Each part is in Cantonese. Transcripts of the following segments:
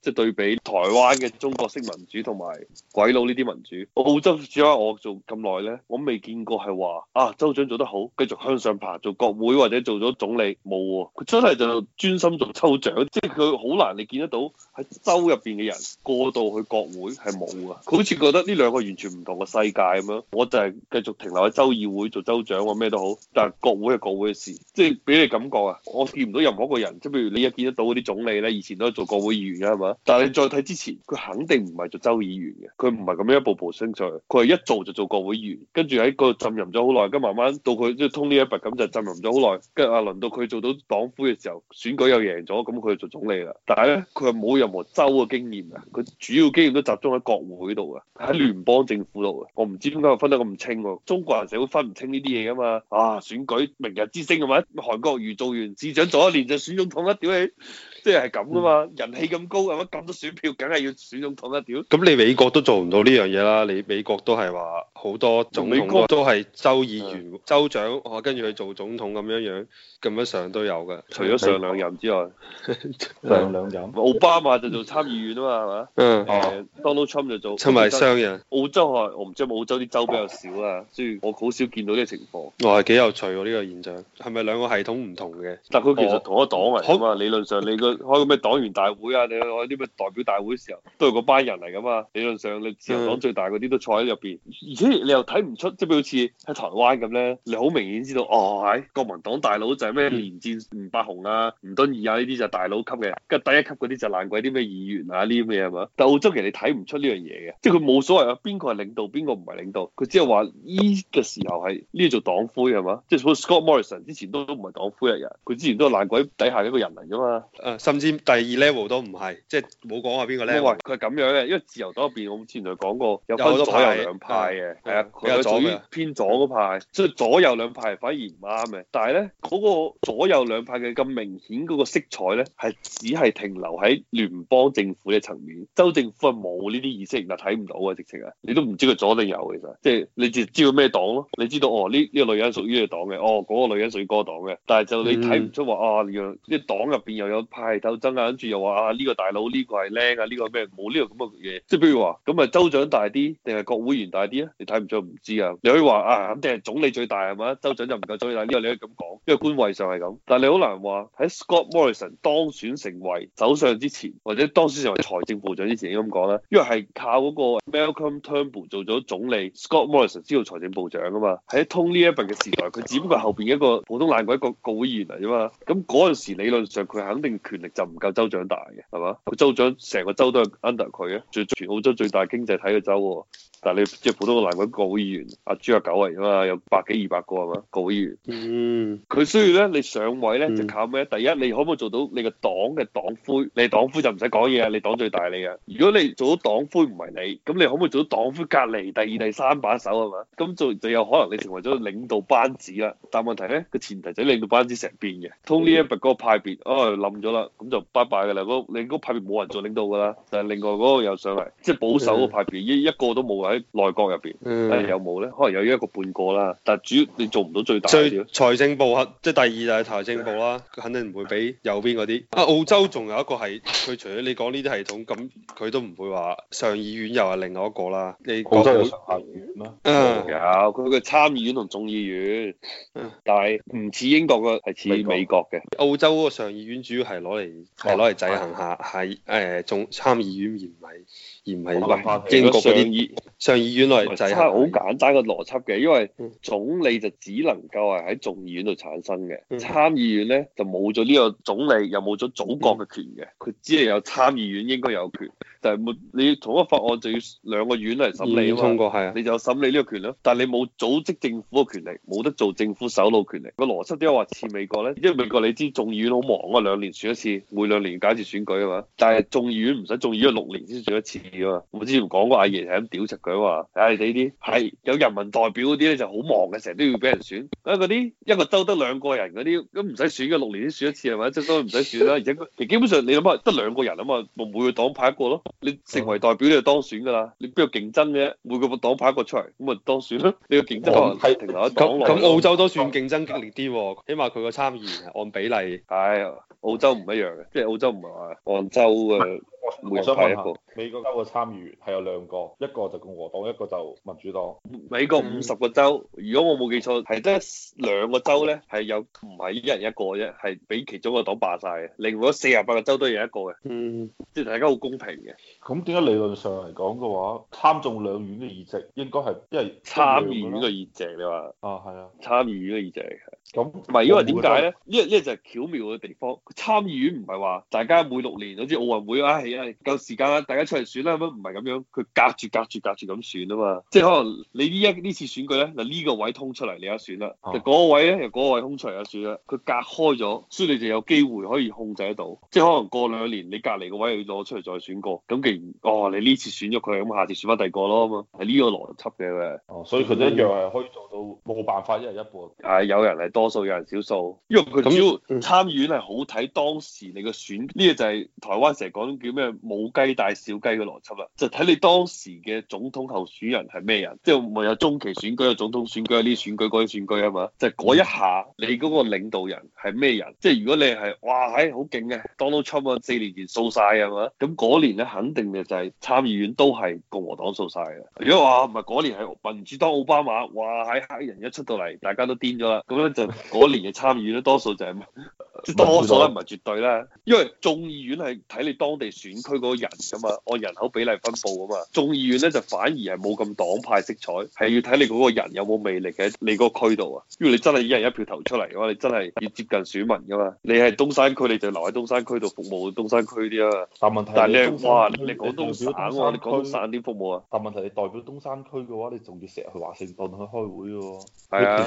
即係對比台灣嘅中國式民主同埋鬼佬呢啲民主。澳洲主要我做咁耐咧，我未見過係話啊州長做得好，繼續向上爬做國會或者做咗總理，冇喎。佢真係就專心做州長，即係佢好難你見得到喺州入邊嘅人過到去國會係冇㗎。佢好似覺得呢兩個完全唔同嘅世界咁樣，我就係繼續停留喺州議會做州長，我咩都好，但係國會係國會嘅事，即係俾你感覺啊！我見唔到任何一個人，即係譬如你一見得到嗰啲總理咧，以前都係做國會議員嘅係嘛？但係你再睇之前，佢肯定唔係做州議員嘅，佢唔係咁樣一步步升上去，佢係一做就做國會議員，跟住喺嗰度浸淫咗好耐，跟慢慢到佢即係通呢一筆咁就浸淫咗好耐，跟住輪到佢做到黨魁嘅時候，選舉又贏咗，咁佢就做總理啦。但係咧，佢係冇任何州嘅經驗啊，佢主要經驗都集中喺國會度啊，喺聯邦政府度啊。我唔知點解佢分得咁清喎，中國人社會分唔清呢啲嘢噶嘛？啊，選舉明日之星係咪？韓國瑜做完市長做一年就選總統啦，屌你！即係咁噶嘛，人氣咁高係咪？咁多選票，梗係要選總統啦，屌！ 咁你美國都做唔到呢樣嘢啦，你美國都係話好多總統都係州議員、州長，跟住去做總統咁樣上都有嘅， 除咗上兩任之外， 上兩任， 奧巴馬就做參議員啊嘛，係嘛？Donald Trump 就做， 同埋商人。 澳洲啊，我唔知係咪澳洲啲州比較少啊，所以我好少見到呢個情況。 係幾有趣喎呢個現象，係咪兩個系統唔同嘅？ 但佢其實同一黨嚟㗎嘛，理論上你開個咩黨員大會啊，你開啲咩代表大會嘅時候，都係嗰班人嚟㗎嘛。理論上你自由黨最大嗰啲都坐喺入邊，而且你又睇唔出，即係好似喺台灣咁咧，你好明顯知道哦，係國民黨大佬就係咩連戰吳伯雄啊、吳敦義啊呢啲就係大佬級嘅，跟住低一級嗰啲就爛鬼啲咩議員啊呢啲咩係嘛？但澳洲其實你睇唔出呢樣嘢嘅，即係佢冇所謂啊，邊個係領導，邊個唔係領導，佢只係話依個時候係呢做黨魁係嘛？即係 Scott Morrison 之前都唔係黨魁嚟嘅，佢之前都係爛鬼底下一個人嚟㗎嘛。 甚至第二 level 都唔係，即係冇講話邊個 level。 佢係咁樣嘅，因為自由黨入邊我之前就講過有分左右兩派嘅，係啊，佢係屬於偏左嗰派，所以左右兩派反而唔啱嘅。但係咧嗰個左右兩派嘅咁明顯嗰個色彩咧，係只係停留喺聯邦政府嘅層面，州政府係冇呢啲意識形態睇唔到嘅，直情啊，你都唔知佢左定右其實，即係你只知道咩黨咯，你知道哦呢個女人屬於呢個黨嘅，哦嗰個女人屬於嗰個黨嘅，但係就你睇唔出話啊，呢啲黨入邊又有派系鬥爭啊，跟住又話啊呢個大佬呢個係靚啊，呢個咩冇呢個咁嘅嘢，即係譬如話咁啊州長大啲定係國會議員大啲啊？你睇唔出唔知啊，你可以話啊肯定係總理最大係嘛，州長就唔夠總理大，呢個你可以咁講，因為官位上係咁，但係你好難話喺 Scott Morrison 當選成為首相之前，或者當選成為財政部長之前應該咁講啦，因為係靠嗰個 Malcolm Turnbull 做咗總理，Scott Morrison 先做財政部長啊嘛，喺通呢一份嘅時代，佢只不過後邊一個普通爛鬼國會議員嚟啫嘛，咁嗰陣時理論上佢肯定權力就唔夠州長大嘅，係嘛？佢州長成個州都係 under 佢嘅，全澳洲最大經濟體嘅州喎。但係你即係普通嘅爛鬼國會議員，阿豬阿狗嚟㗎嘛，有百幾200個係嘛國會議員。佢需要咧，你上位咧就靠咩？第一，你可唔可以做到你個黨嘅黨魁？你黨魁就唔使講嘢啊，你黨最大你啊。如果你做到黨魁唔係你，咁你可唔可以做到黨魁隔離第二、第三把手係嘛？咁就有可能你成為咗領導班子啦。但問題咧，個前提就係領導班子成變嘅。通呢一筆嗰個派別，冧咗啦，咁就拜拜㗎啦。你嗰個派別冇人做領導㗎啦，但係另外嗰個又上嚟，即係保守個派別一個都冇喺內閣入邊，有冇咧？可能有一個半個啦，但係主要你做唔到最大。 財政部即係第二就係財政部啦，佢肯定唔會俾右邊嗰啲。澳洲仲有一個係，佢除咗你講呢啲系統，咁佢都唔會話上議院又係另外一個啦。你澳洲有上下議院咩？ 有佢嘅參議院同眾議院，但係唔似英國嘅，係似美國嘅。 澳洲嗰個上議院主要係攞嚟制衡下係仲參議院而唔係英國嗰啲上議院攞嚟制衡。 好簡單嘅邏輯嘅，因為總理就只能夠係喺眾議院度產生嘅，參議院咧就冇咗呢個總理，又冇咗組閣嘅權嘅，佢只係有參議院應該有權，但係你同一個法案就要兩個院嚟審理啊嘛，通過係啊，你就有審理呢個權力，但係你冇組織政府嘅權力，冇得做政府首腦權力。個邏輯點解話似美國咧？因為美國你知眾議院好忙啊，2年選一次，每2年搞一次選舉啊嘛，但係眾議院唔使，眾議院6年先選一次啊嘛。我之前講過阿爺係咁屌柒佢話，你哋呢啲係有人民代表嗰啲咧就好忙嘅，成日都要俾人選。嗰啲一個州得2個人嗰啲，咁唔使選嘅，6年先選一次係咪？即係都唔使選啦。而且其實基本上你諗下，得2個人啊嘛，每個黨派一個咯。你成為代表你就當選㗎啦。你邊有競爭嘅？每個黨派一個出嚟，咁咪當選咯。你個競爭可能係停留喺黨內。 咁澳洲都算競爭激烈啲喎，起碼佢個參議員係按比例。 係澳洲唔一樣嘅，即係澳洲唔係話按州嘅。 每人想問下派一個。 美國州嘅參議員係有兩個，一個就共和黨，一個就民主黨。 美國50個州，如果我冇記錯，係得2個州咧係有唔係一人一個啫，係俾其中一個黨霸晒嘅。另外48個州都有一個嘅，即係大家好公平嘅。 咁點解理論上嚟講嘅話，參眾兩院嘅議席應該係因為參議院嘅議席你話？ 啊係啊， 參議院嘅議席係。 咁唔係因為點解咧？呢就係巧妙嘅地方。參議院唔係話大家每6年好似奧運會啊，係夠時間啦，大家出嚟選啦，咁唔係咁樣。佢隔住咁選啊嘛。即係可能你呢次選舉咧，嗱呢個位通出嚟你一選啦，就嗰個位咧由嗰個位空出嚟一選啦。佢隔開咗，所以你就有機會可以控制得到。即係可能過2年你隔離個位要攞出嚟再選過。咁既然你呢次選咗佢，咁下次選翻第二個咯嘛。係呢個邏輯嘅。 所以佢都一樣係可以做到冇辦法一人一半。 係有人係多數，有人少數，因為佢主要參議院係好睇當時你個選，呢個就係台灣成日講叫咩母雞帶小雞嘅邏輯啦，就睇你當時嘅總統候選人係咩人，即係咪有中期選舉、有總統選舉、有啲選舉、嗰啲選舉啊嘛，就係嗰一下你嗰個領導人係咩人，即係如果你係哇好勁嘅 Donald Trump 4年前掃晒係嘛，咁嗰年咧肯定嘅就係參議院都係共和黨掃晒嘅。如果話唔係嗰年係民主黨奧巴馬，哇喺黑人一出到嚟，大家都癲咗啦，咁咧就嗰年嘅參議院咧多數就係即係多數啦，唔係絕對啦，因為眾議院係睇你當地選區嗰個人噶嘛，按人口比例分佈噶嘛。眾議院咧就反而係冇咁黨派色彩，係要睇你嗰個人有冇魅力喺你嗰個區度啊。因為你真係一人一票投出嚟嘅話，你真係要接近選民噶嘛。你係東山區，你就留喺東山區度服務東山區啲啊。 但問題， 但係你廣東省喎，你廣東省點服務啊？ 但問題你代表東山區嘅話，你仲要成日去華盛頓去開會嘅喎。 係啊，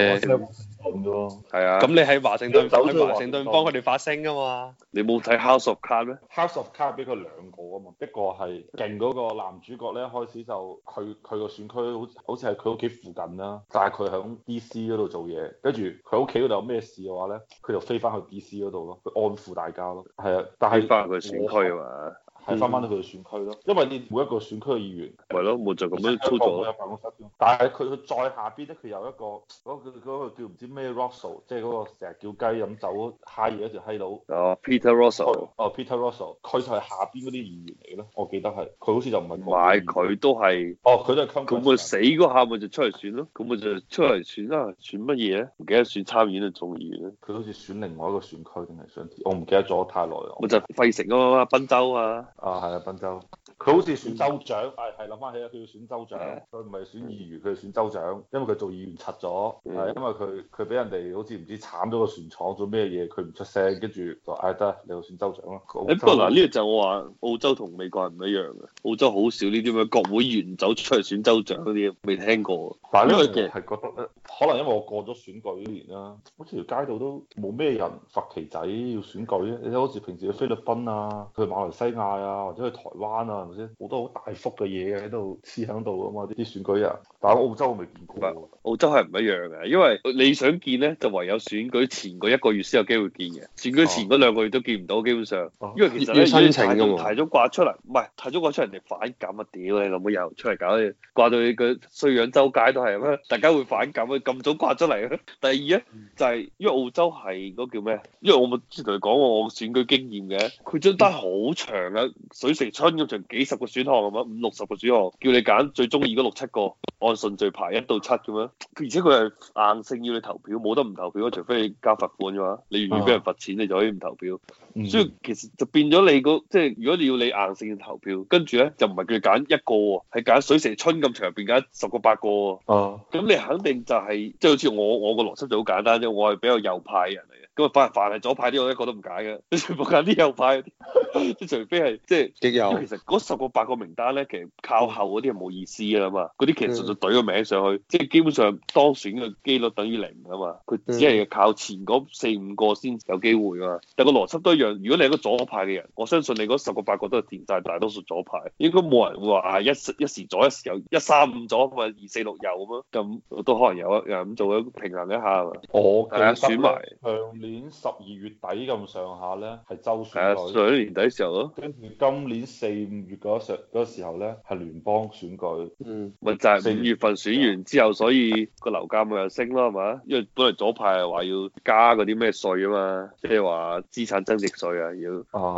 係啊。 咁你喺華盛頓幫佢哋發聲噶嘛？ 你冇睇 House of Cards 咩 ？House of Cards 俾佢2個啊嘛，一個係勁嗰個男主角咧，一開始就佢個選區好似係佢屋企附近啦，但係佢喺 DC 嗰度做嘢，跟住佢屋企嗰度有咩事嘅話咧，佢就飛翻去 DC 嗰度咯，去安撫大家咯。係啊，但係翻佢選區啊嘛。 係翻返到佢嘅選區咯，因為你每一個選區嘅議員係咯，冇就咁樣操作咯。 但係佢再下邊咧，佢有一個嗰個叫唔知咩 Russell，即係嗰個成日叫雞飲酒嗨嘢一條閪佬。 哦，Peter Russell。 Peter Russell，佢就係下邊嗰啲議員嚟咯，我記得係。佢好似就唔係。 唔係，佢都係。 佢都係。 佢咪死嗰下咪就出嚟選咯，咁咪就出嚟選啦，選乜嘢咧？唔記得選參議院定眾議院咧？ 佢好似選另外一個選區定係選，我唔記得咗太耐啦。 咪就費城啊嘛，賓州啊。 係啊，賓州。佢好似選州長，係諗翻起啦，佢要選州長，佢唔係選議員，佢係選州長，因為佢做議員柒咗，係因為佢俾人哋好似唔知慘咗個船廠做咩嘢，佢唔出聲，跟住就得，你就選州長咯。 不過嗱，呢個就我話澳洲同美國係唔一樣嘅，澳洲好少呢啲咁嘅國會議員走出嚟選州長嗰啲，未聽過。 但係呢個係覺得咧，可能因為我過咗選舉年啦，好似條街度都冇咩人發旗仔要選舉咧。你睇好似平時去菲律賓啊，去馬來西亞啊，或者去台灣啊，係咪先？好多好大幅嘅嘢喺度黐喺度啊嘛，啲選舉人。但係澳洲我未見過。 澳洲係唔一樣嘅，因為你想見咧，就唯有選舉前嗰1個月先有機會見嘅。選舉前嗰2個月都見唔到，基本上。因為其實咧， 申請㗎提早掛出嚟，唔係提早掛出嚟，人哋反感啊！屌你老母又出嚟搞嘢，掛到你個衰樣周街都係咁樣，大家會反感啊！咁早掛出嚟。第二咧就係、是、因為澳洲係嗰叫咩？因為我冇之前同你講過我選舉經驗嘅，佢張單好長啊，水蛇春咁長，幾十個選項咁樣，50、60個選項，叫你揀最中意嗰6、7個，按順序排1到7咁樣。而且佢係硬性要你投票，冇得唔投票，除非你交罰款嘅話，你願意俾人罰錢，你就可以唔投票。所以其實就變咗你即係如果你要你硬性要投票，跟住咧就唔係叫你揀1個喎，係揀水蛇春咁長入邊揀10個8個喎。咁你肯定就係即係好似我個邏輯就好簡單啫，我係比較右派人嚟嘅。咁啊，凡係左派啲，我一個都唔揀嘅，全部揀啲右派，即係除非係即係極右。其實嗰10個8個名單咧，其實靠後嗰啲係冇意思㗎啦嘛，嗰啲其實就懟個名上去，即係基本上當選嘅機率等於0啊嘛，佢只係靠前嗰4、5個先有機會啊嘛。但個邏輯都一樣，如果你係一個左派嘅人，我相信你嗰10個8個都係填晒大多數左派，應該冇人會話一時左一時右135左或者246右咁樣，咁都可能有咁做平衡一下嘛。 我記得選埋上年12月底咁上下咧，係州選舉。 上年底時候咯。 跟住今年4、5月嗰時候咧，係聯邦選舉。 咪就係5月份選完之後，所以個樓價咪又升咯，係嘛？因為本來左派係話要加嗰啲咩稅啊嘛，即係話資產增值稅啊要。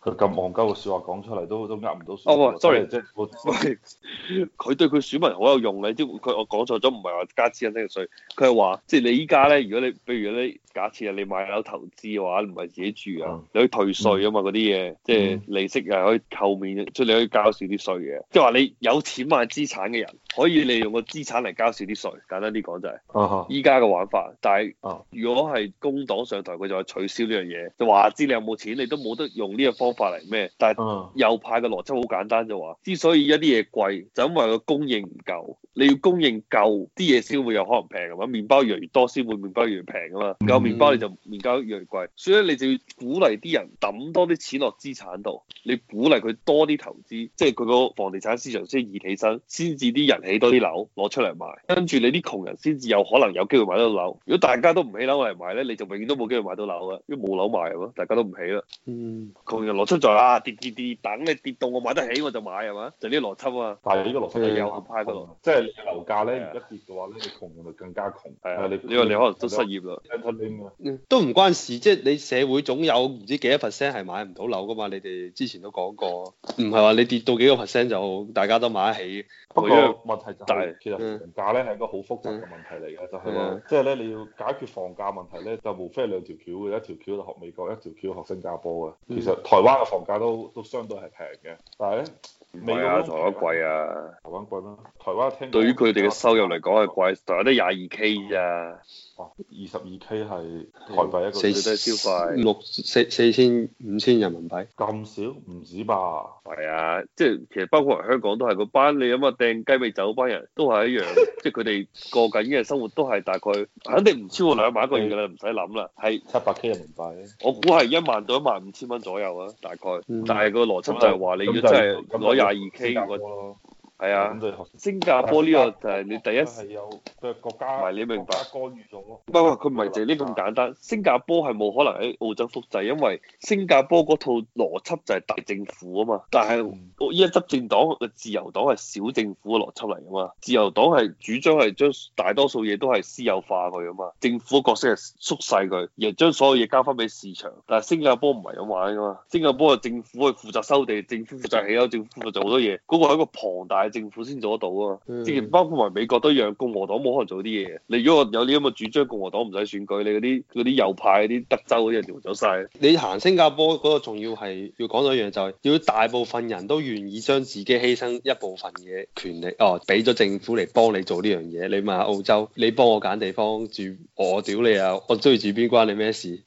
佢咁戇鳩嘅説話講出嚟都呃唔到選。 哦，sorry， 即係佢對佢選民好有用嘅，即佢我講錯咗，唔係話加資產增值稅，佢係話即係你依家咧，如果你譬如你假設啊，你買樓投資嘅話，唔係自己住啊，你可以退稅啊嘛，嗰啲嘢，即係利息啊可以扣免，即係你可以交少啲稅嘅。即係話你有錢買資產嘅人，可以利用個資產嚟交少啲稅。簡單啲講就係依家嘅玩法。但係如果係工黨上台，佢就話取消呢樣嘢，就話知你有冇錢，你都冇得用呢個方法嚟咩？但係右派嘅邏輯好簡單，就話之所以一啲嘢貴，就因為個供應唔夠。你要供應夠，啲嘢先會有可能平啊嘛。麵包越嚟越多，先會麵包越嚟越平啊嘛。夠麵包你就麵包越嚟越貴。所以你就要鼓勵啲人抌多啲錢落資產度，你鼓勵佢多啲投資，即係佢個房地產市場先熱起身，先至啲人起多啲樓攞出嚟賣，跟住你啲窮人先至有可能有機會買到樓。如果大家都唔起樓嚟賣咧，你就永遠都冇機會買到樓啊，因為冇樓賣啊嘛，大家都唔起啦。窮人邏輯就係啊，跌，等你跌到我買得起我就買係嘛，就呢個邏輯啊。 但係呢個邏輯係右派嗰度， 即係你樓價咧一跌嘅話咧，你窮人就更加窮。 係啊，你話你可能都失業啦。 都唔關事，即係你社會總有唔知幾多 percent 係買唔到樓噶嘛？你哋之前都講過，唔係話你跌到幾個 percent 就大家都買得起。 不過問題就係其實房價咧係一個好複雜嘅問題嚟嘅，就係話即係咧你要解決房價問題咧，就無非係兩條橋嘅，一條橋就學美國，一條橋學新加坡嘅。其實台灣嘅房價都相對係平嘅，但係咧。 唔係啊，台灣貴啊！ 台灣貴咩？台灣聽對於佢哋嘅收入嚟講係貴，台灣得22K 咋。 22K 係台幣一個最低消費， 四千五千人民幣咁少唔止吧？ 係啊，即係其實包括香港都係個班，你諗下掟雞尾酒班人都係一樣，即係佢哋過緊嘅生活都係大概肯定唔超過2萬一個月㗎啦，唔使諗啦，係 700K 人民幣。 我估係1萬到15000蚊左右啊，大概。但係個邏輯就係話你如果真係攞22K 個。係啊，新加坡呢個就係你第一係有嘅國家， 唔係你明白干預咗咯。 唔係佢唔係就係呢咁簡單。新加坡係冇可能喺澳洲複製，因為新加坡嗰套邏輯就係大政府啊嘛。但係依家執政黨嘅自由黨係小政府嘅邏輯嚟噶嘛。自由黨係主張係將大多數嘢都係私有化佢啊嘛。政府角色係縮細佢，而係將所有嘢交翻俾市場。但係新加坡唔係咁玩噶嘛。新加坡係政府去負責收地，政府負責起樓，政府負責好多嘢。嗰個係一個龐大政府先做得到啊！之前包括埋美國都一樣，共和黨冇可能做啲嘢。你如果有呢咁嘅主張，共和黨唔使選舉，你嗰啲右派嗰啲德州嗰啲人就走晒。 你行新加坡嗰個仲要係要講到一樣，就係要大部分人都願意將自己犧牲一部分嘅權力，俾咗政府嚟幫你做呢樣嘢。你問下澳洲，你幫我揀地方住，我屌你啊！我中意住邊關你咩事？